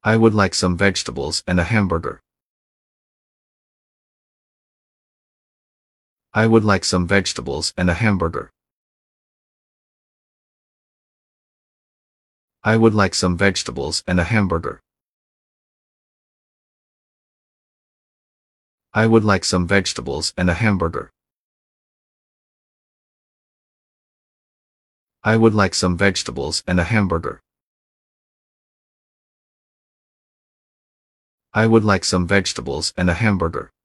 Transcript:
I would like some vegetables and a hamburger. I would like some vegetables and a hamburger. I would like some vegetables and a hamburger. I would like some vegetables and a hamburger. I would like some vegetables and a hamburger. I would like some vegetables and a hamburger.